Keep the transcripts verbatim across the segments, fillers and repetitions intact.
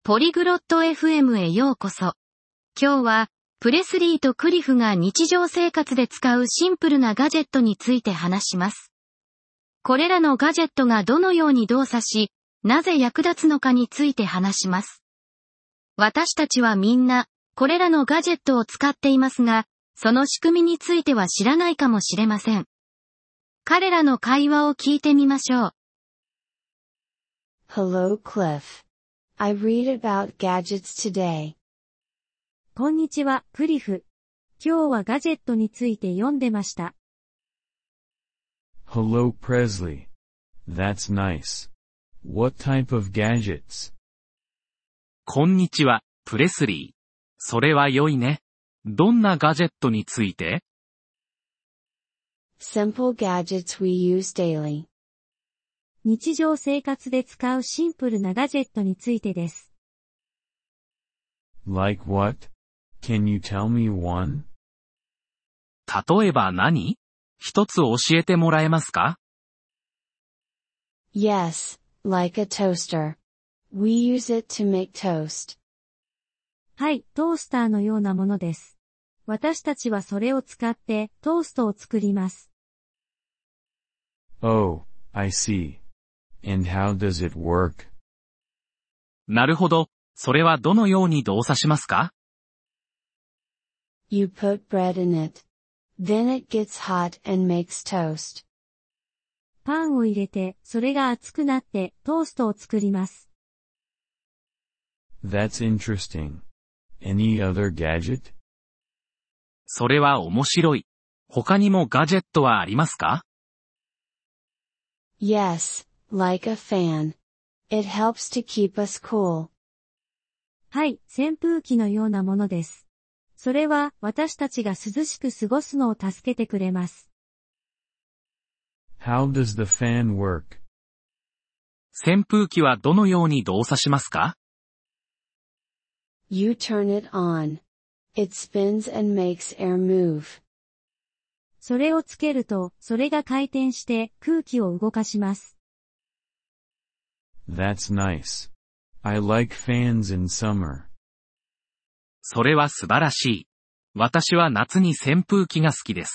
ポリグロット エフエム へようこそ。今日は、プレスリーとクリフが日常生活で使うシンプルなガジェットについて話します。これらのガジェットがどのように動作し、なぜ役立つのかについて話します。私たちはみんな、これらのガジェットを使っていますが、その仕組みについては知らないかもしれません。彼らの会話を聞いてみましょう。 Hello, Cliff.I read about gadgets today. こんにちは、クリフ。今日はガジェットについて読んでました。 Hello, Presley. That's nice. What type of gadgets? こんにちは、プレスリー。それは良いね。どんなガジェットについて？ Simple gadgets we use daily. 日常生活で使うシンプルなガジェットについてです。 Like what? Can you tell me one? 例えば何？一つ教えてもらえますか？ Yes, like a toaster. We use it to make toast. はい、トースターのようなものです。私たちはそれを使ってトーストを作ります。 Oh, I see.And how does it work? なるほど。それはどのように動作しますか？ You put bread in it. Then it gets hot and makes toast. パンを入れて、それが熱くなってトーストを作ります。 That's interesting. Any other gadget? それは面白い。他にもガジェットはありますか？ Yes.Like a fan. It helps to keep us cool. はい、扇風機のようなものです。それは私たちが涼しく過ごすのを助けてくれます。 How does the fan work? 扇風機はどのように動作しますか？ You turn it on. It spins and makes air move. それをつけると、それが回転して空気を動かします。 That's nice. I like fans in summer. それは素晴らしい。私は夏に扇風機が好きです。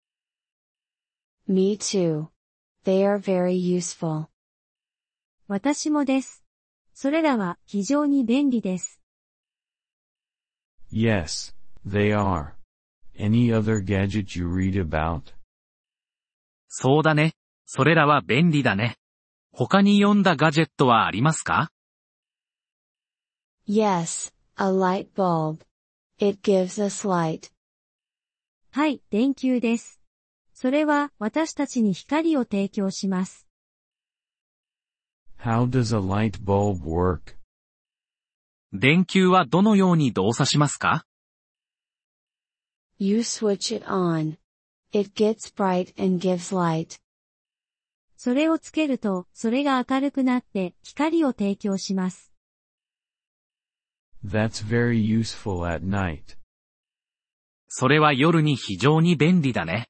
Me too. They are very useful. 私もです。それらは非常に便利です。 Yes, they are.Any other gadget you read about? そうだね。それらは便利だね。他に読んだガジェットはありますか？ Yes, a light bulb. It gives us light. はい、電球です。それは私たちに光を提供します。 How does a light bulb work? 電球はどのように動作しますか？ You switch it on. It gets bright and gives light. それをつけると、それが明るくなって光を提供します。 That's very useful at night. それは夜に非常に便利だね。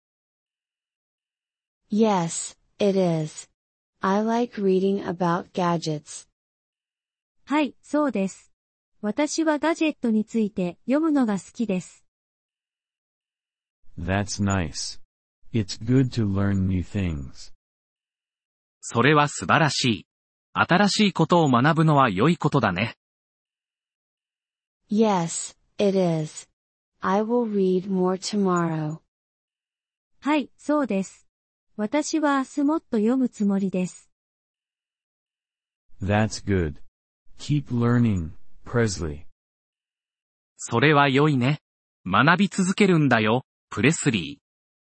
Yes, it is. I like reading about gadgets. はい、そうです。私はガジェットについて読むのが好きです。 That's nice. It's good to learn new things. それは素晴らしい。新しいことを学ぶのは良いことだね。 Yes, it is. I will read more tomorrow. はい、そうです。私は明日もっと読むつもりです。 That's good. Keep learning, Presley. それは良いね。学び続けるんだよ。プレスリ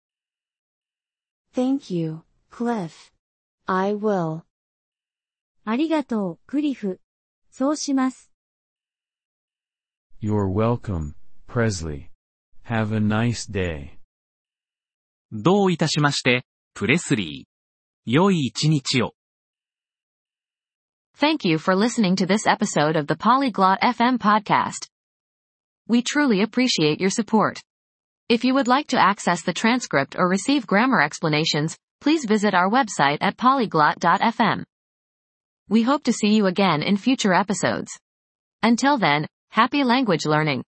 ー。Thank you, Cliff. I will. ありがとう、クリフ。そうします。 You're welcome, Presley. Have a nice day. どういたしまして、プレスリー。良い一日を。 Thank you for listening to this episode of the Polyglot エフエム podcast. We truly appreciate your support. If you would like to access the transcript or receive grammar explanations, please visit our website at polyglot dot f m. We hope to see you again in future episodes. Until then, happy language learning.